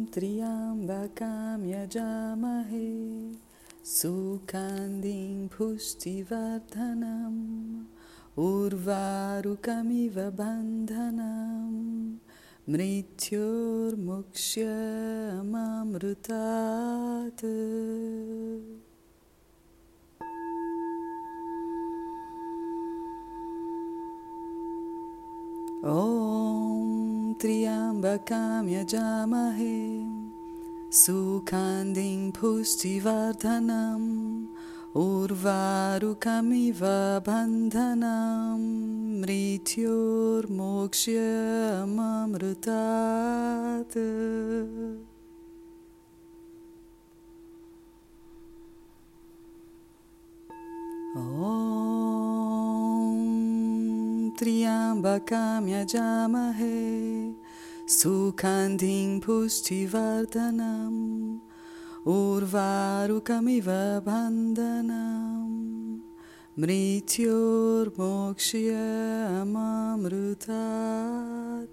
Triambakam yajamahe Sukandin pushtivardhanam Urvarukamiva bandhanam Mrityor mukshyamamrutat. Om Triambakam yajamahe Sukandin pushtivardhanam Urvarukamiva bandhanam Mrityor mokshyamamrutat. Om Triambakam yajamahe Sukandin pushtivardhanam Urvarukamiva bandhanam Mrityor mokshyamamrutat.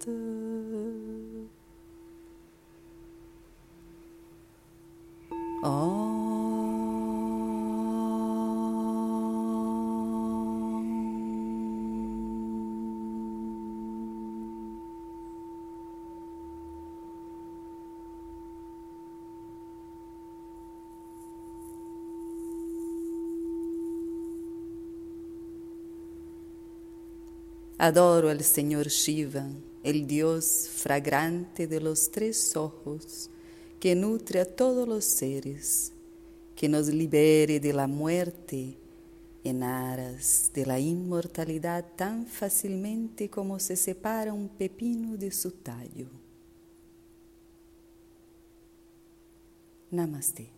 Adoro al Señor Shiva, el Dios fragrante de los tres ojos, que nutre a todos los seres, que nos libere de la muerte en aras de la inmortalidad tan fácilmente como se separa un pepino de su tallo. Namaste.